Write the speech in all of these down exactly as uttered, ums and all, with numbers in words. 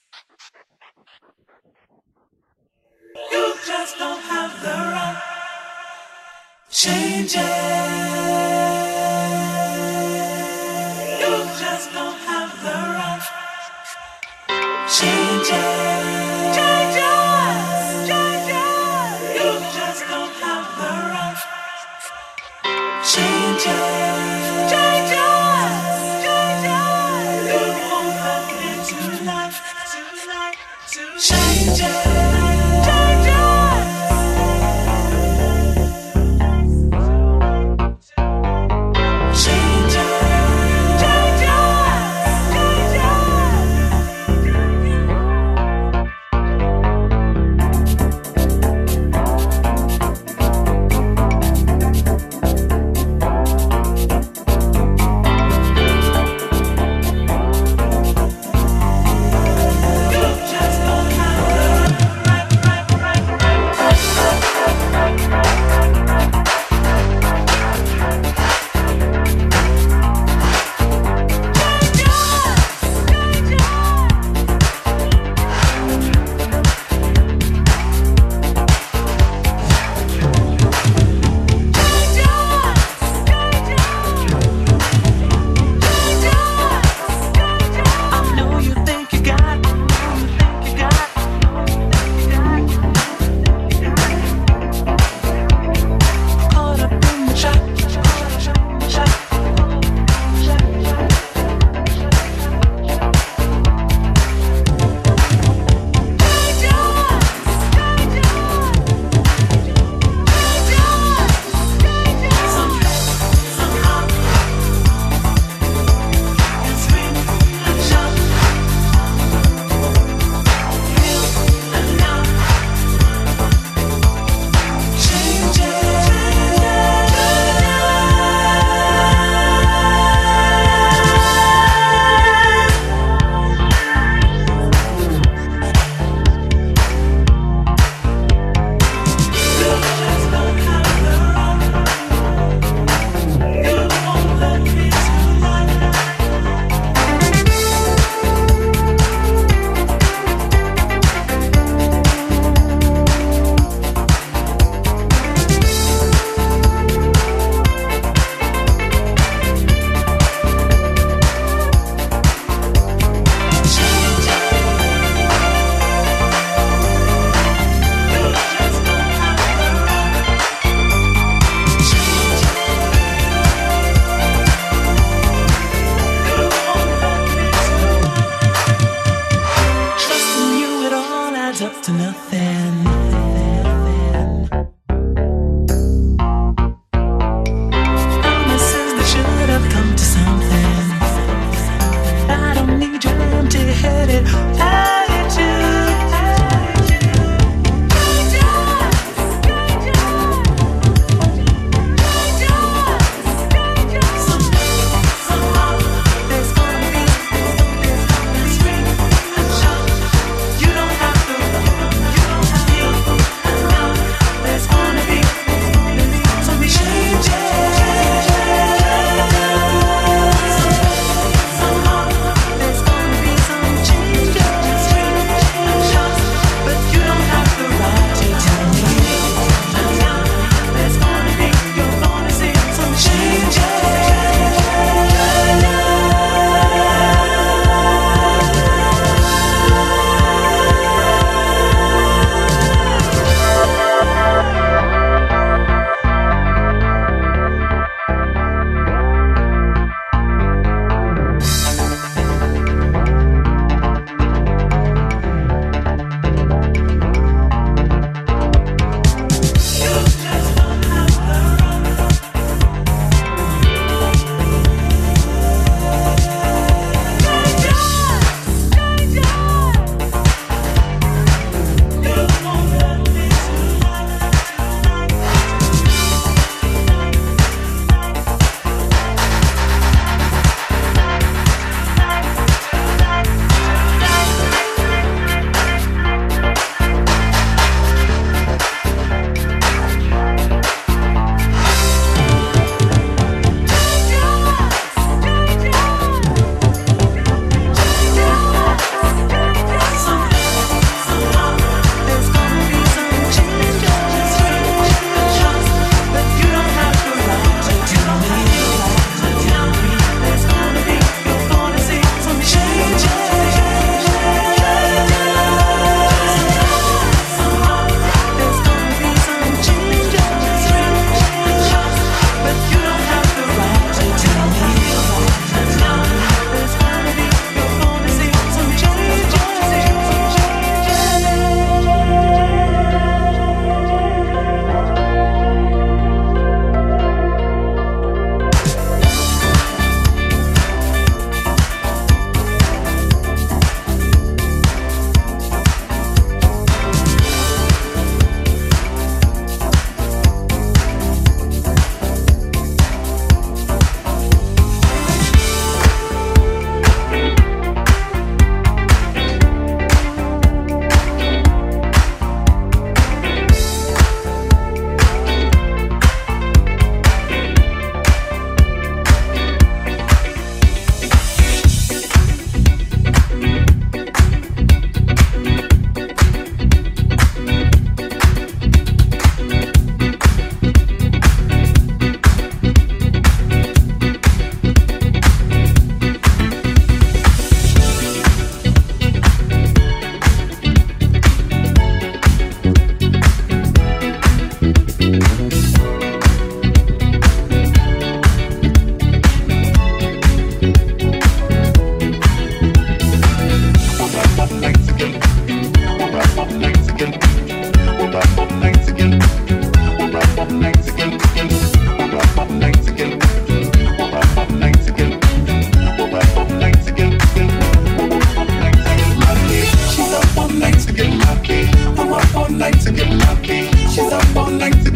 You just don't have the right. Change it. You just don't have the right. Change it. Change it. Change it. You just don't have the right. Change it. Change it. Change it. You won't have me tonight. Tonight. Tonight. Change it. You don't have to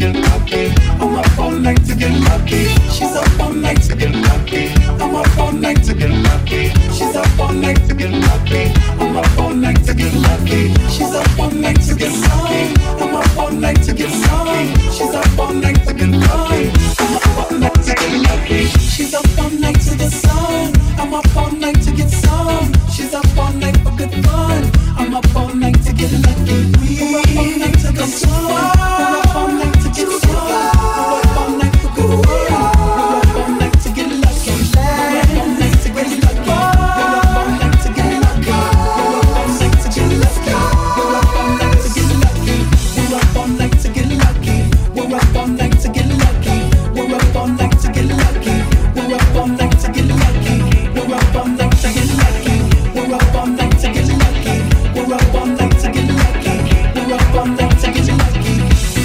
get lucky. I'm up all night to get lucky. She's up all night to get lucky. I'm up all night to get lucky. She's up all night to get lucky. I'm up all night to get lucky. She's up all night to get lucky. I'm up all night to get some. She's up all night to get lucky. I'm up all night to get lucky. She's up all night to get some. I'm up all night to get some. She's up all night for good fun. I'm up all night to get lucky. We're up all night to get some. We're up all night to get some. We're up all night for good fun. We're up all night to get lucky. We're up all night to get lucky. We're up all night to get lucky. We're up all night to get lucky. We're up all night to get lucky. We're up all night to get lucky. We're up all night to get lucky. We're up all night to get lucky. We're up all night to get lucky. We're up all night to get lucky. We're up all night to get lucky. We're up all night to get lucky. We're up all night to get lucky.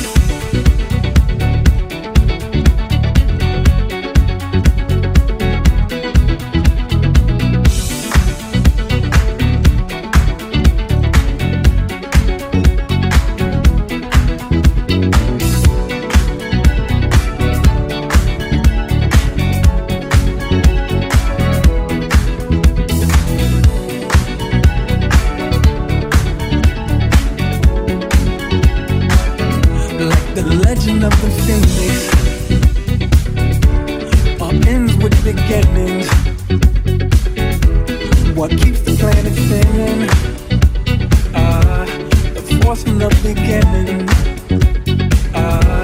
Like the legend of the phoenix, all ends with beginnings. What keeps the planet spinning? Ah, the force from the beginning. Ah,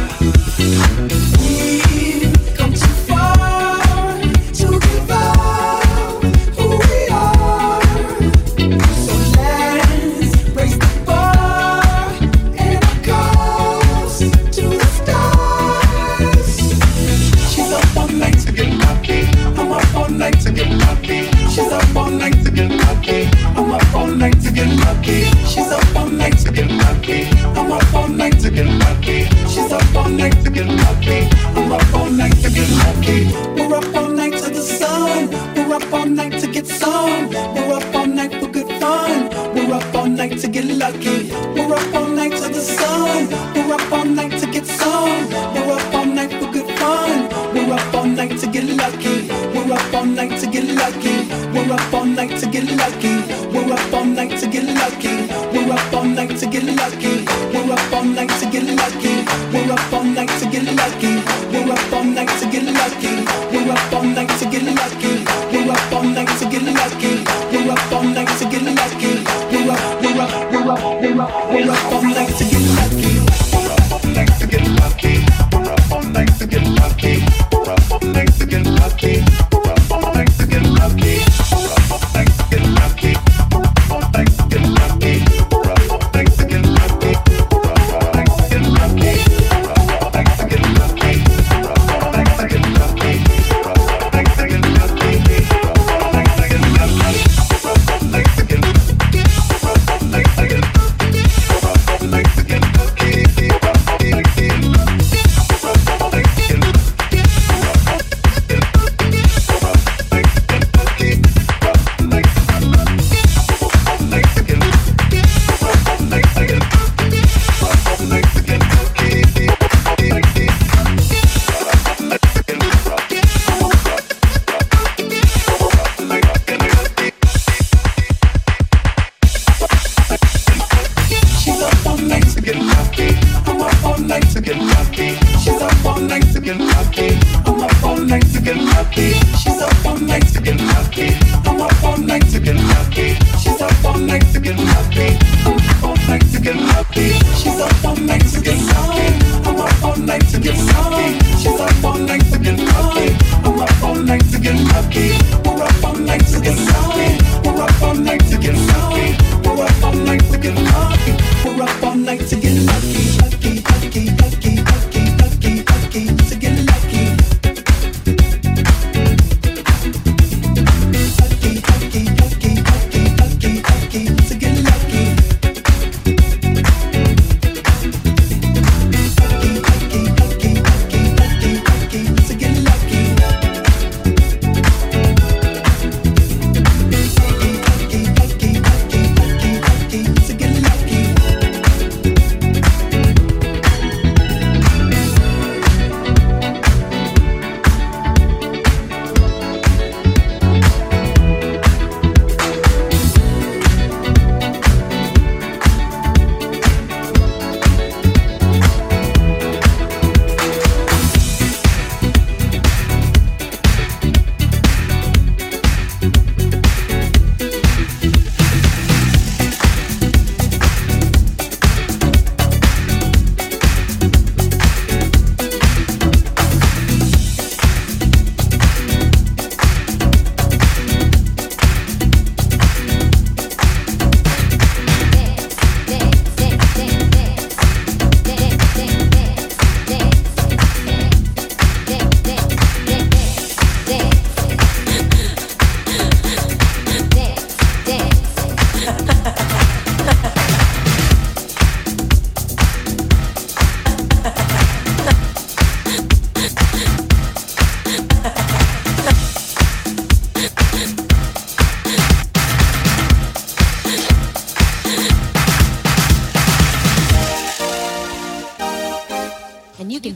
we've come too far to give up who we are. So let's raise the bar and our goals to the stars. She's up all night to get lucky. I'm up all night to get lucky. She's up all night to get lucky. I'm up all night to get lucky. She's up all night to get lucky. I'm up all night to get lucky. She's up all night to get lucky. I'm up all night to get lucky. We're up all night to the sun. We're up all night to get some. We're up all night for good fun. We're up all night to get lucky. We're up all night to the sun. We're up all night to get some. We're up all night for good fun. We're up all night to get lucky. We're up all night to get lucky. We're up all night to get lucky. We're up all night to get lucky. We're up all night to get lucky. We're up all night to get lucky. We're up all night to get lucky. We're up all night to get lucky. We're up all night to get lucky. We're up all night to get lucky. We're up all night to get lucky. We're up, we're up, we're up, we're up, we're up all night to get lucky. We're up all night to get lucky. We're up all night to get lucky. We're up all night to get lucky. We're up all night to get lucky. We're up all night to get lucky. We're up all night to get lucky. We're up all night to get lucky. We're up all night to get lucky. We're up all night to get lucky. We're up all night to get lucky. We're up all night to get lucky. We're up all night to get lucky. We're up all night to get lucky. We're up all night to get lucky. We're up all night to get lucky.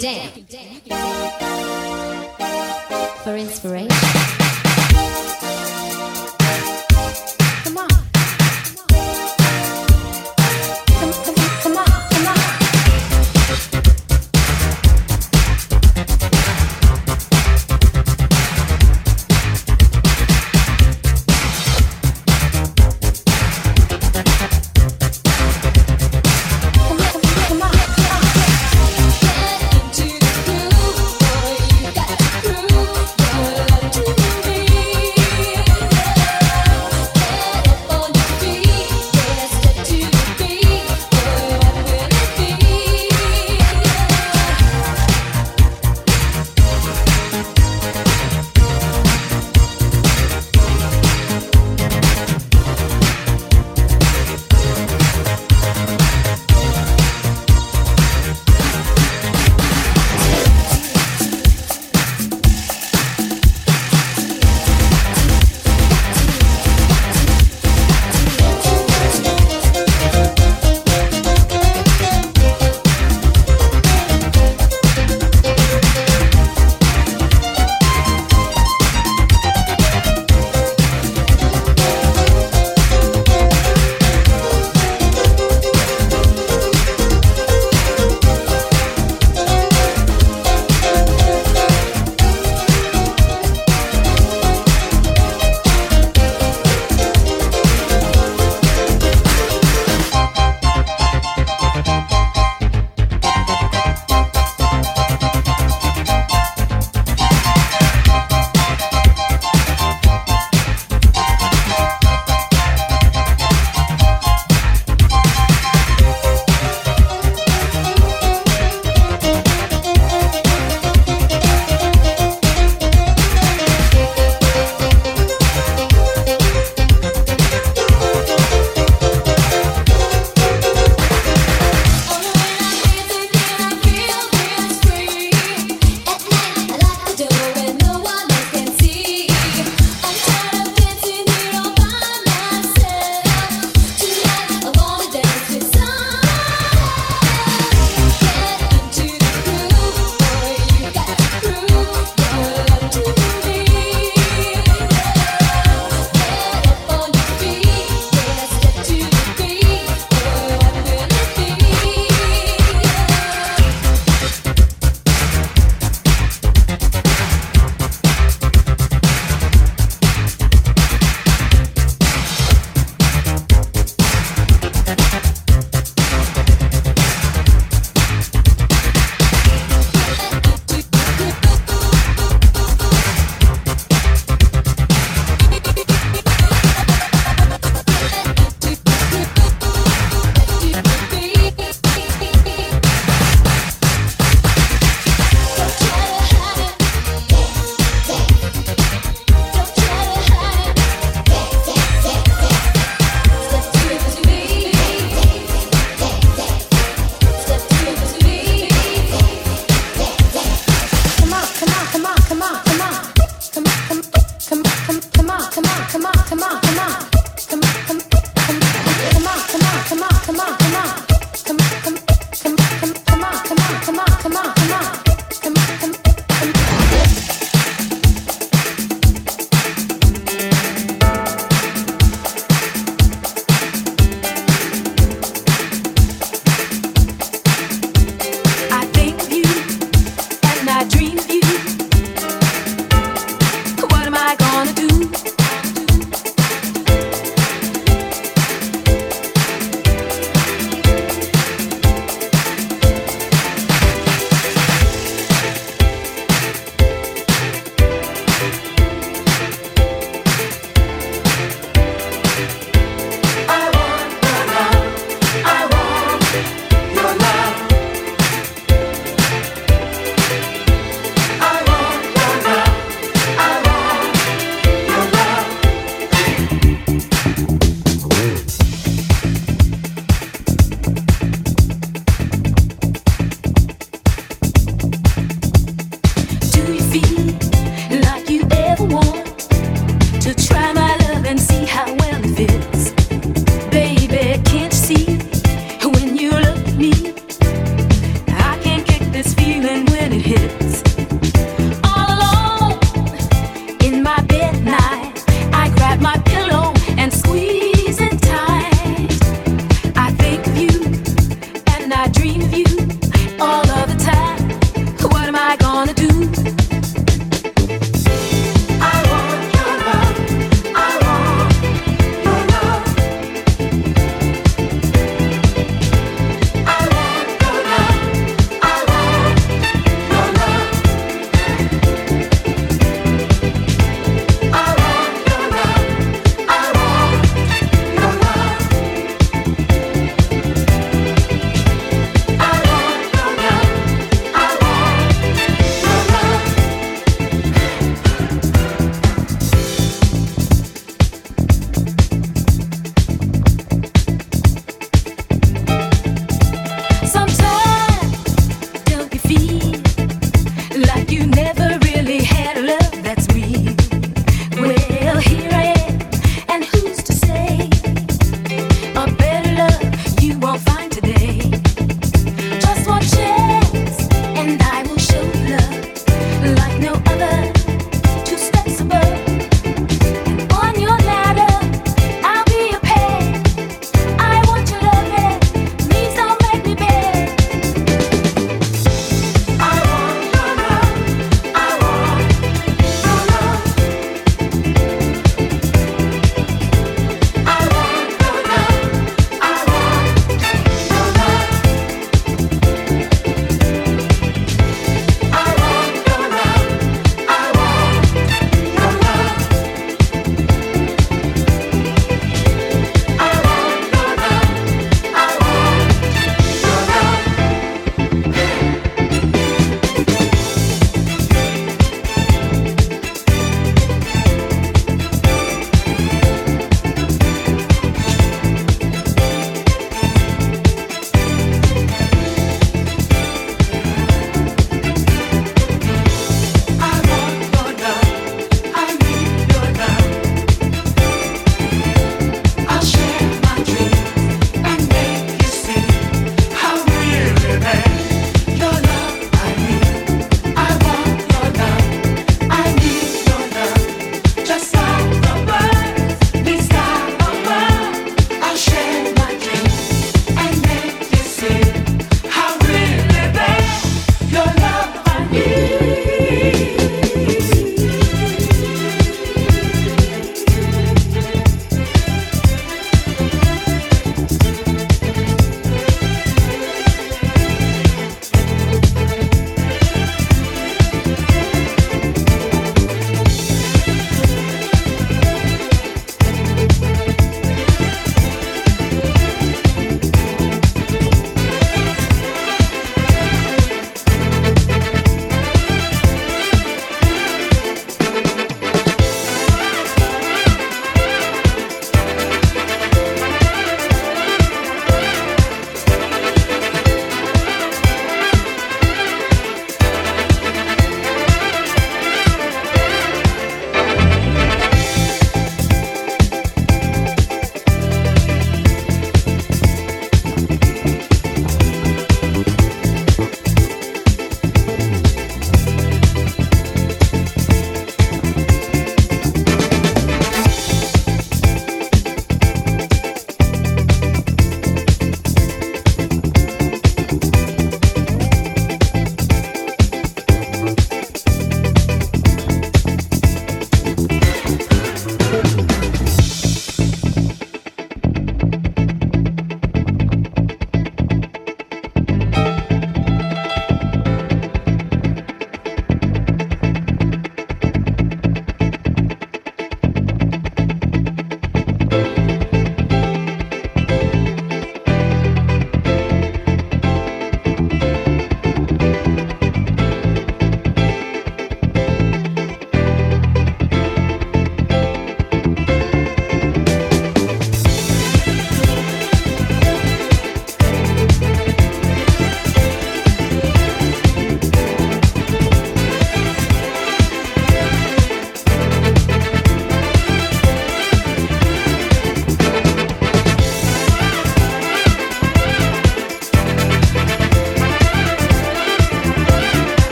dance for inspiration. Come on. Come, come, come on, come on. Get into the groove, boy, you got to groove, boy.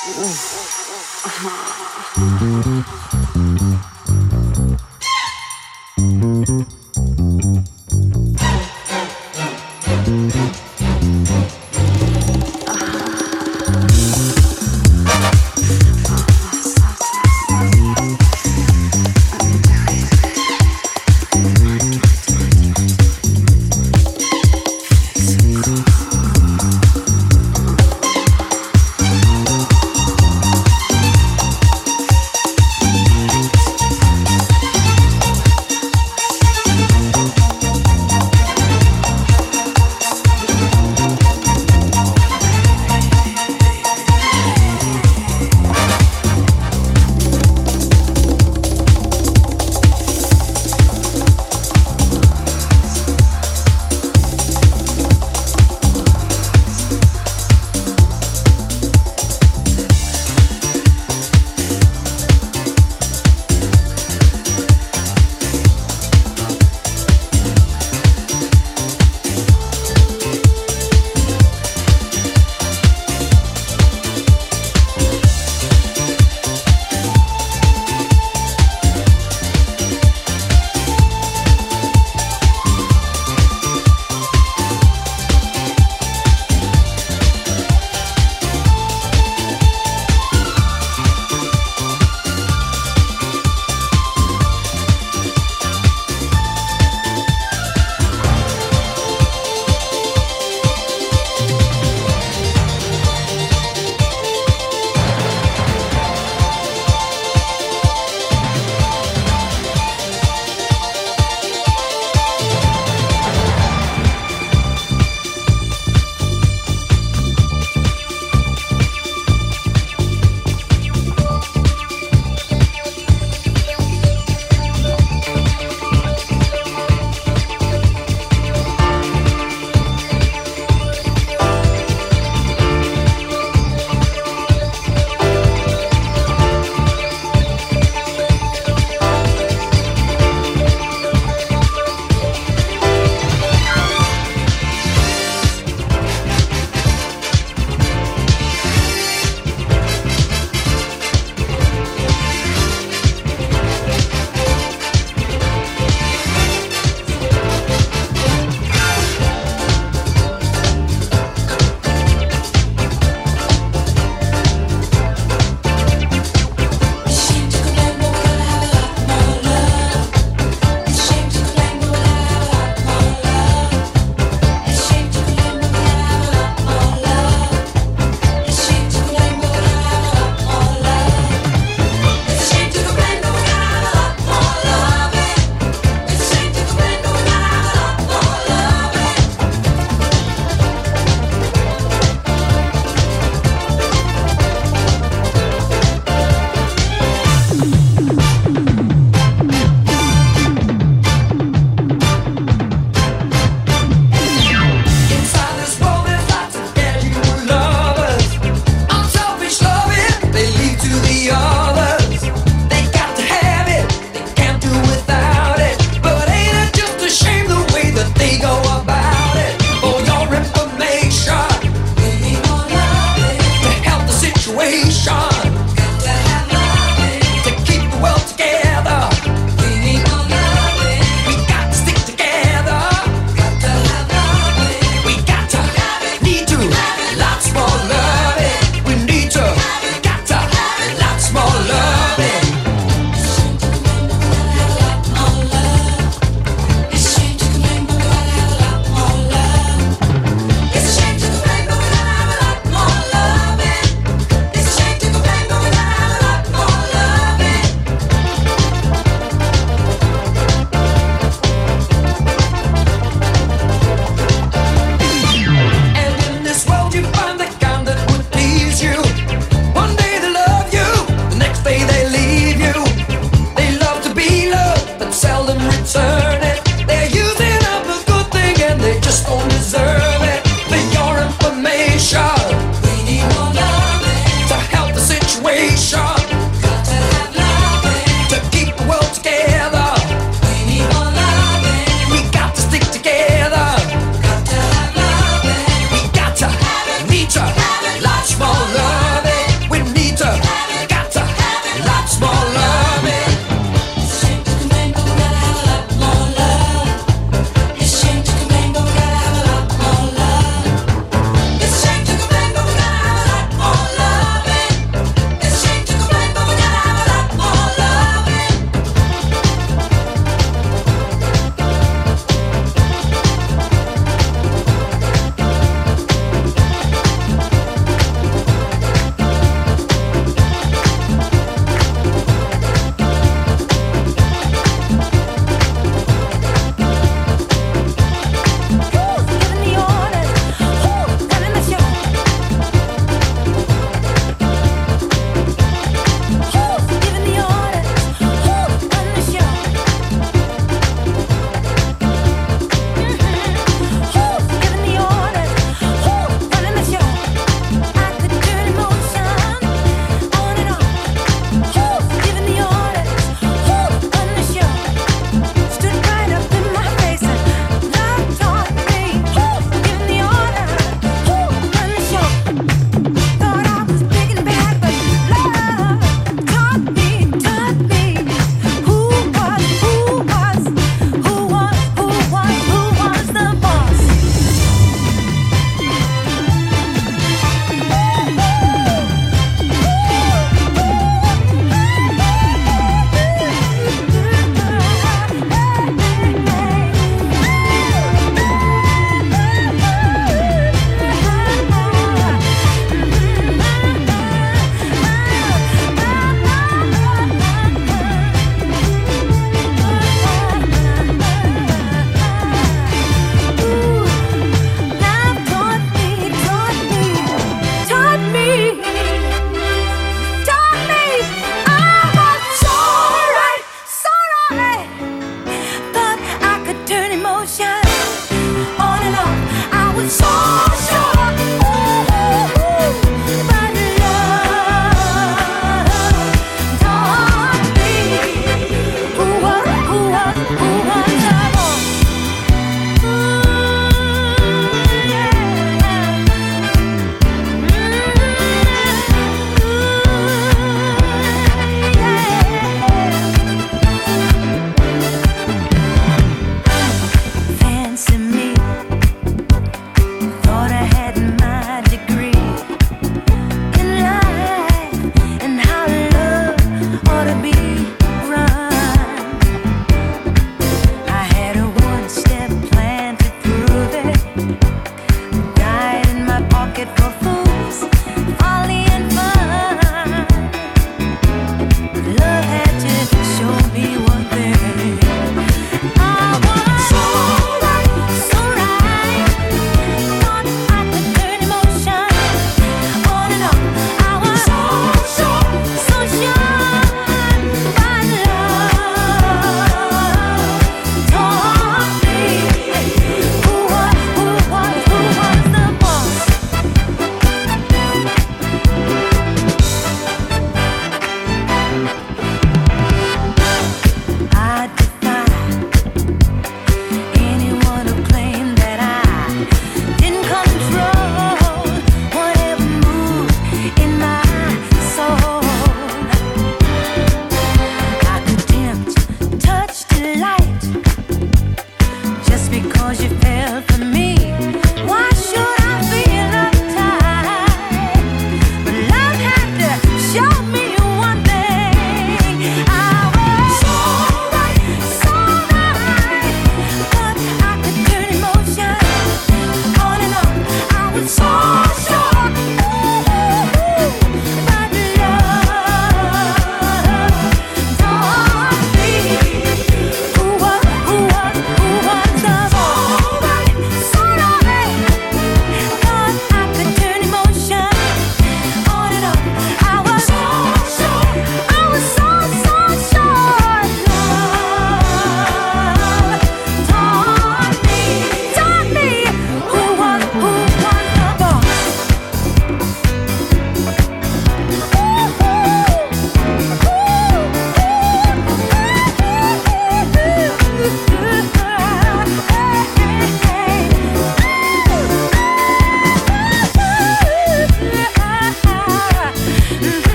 Lots more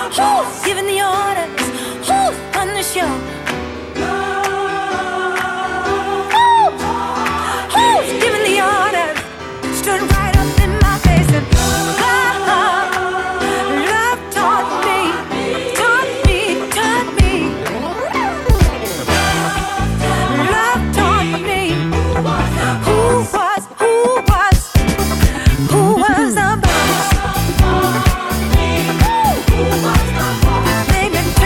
Who's giving the orders? Who's on the show? Who? Who's giving the orders? Stood right up in my face and love, love taught me, taught me, taught me. Love taught me who was, who was, who was the boss. Who was the boss? Baby,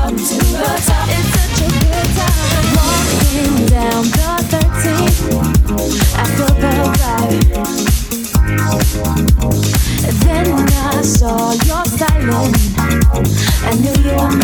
up to the top. It's such a good time. Walking down the thirteenth after the drive. Then I saw your silence. I knew you were mine.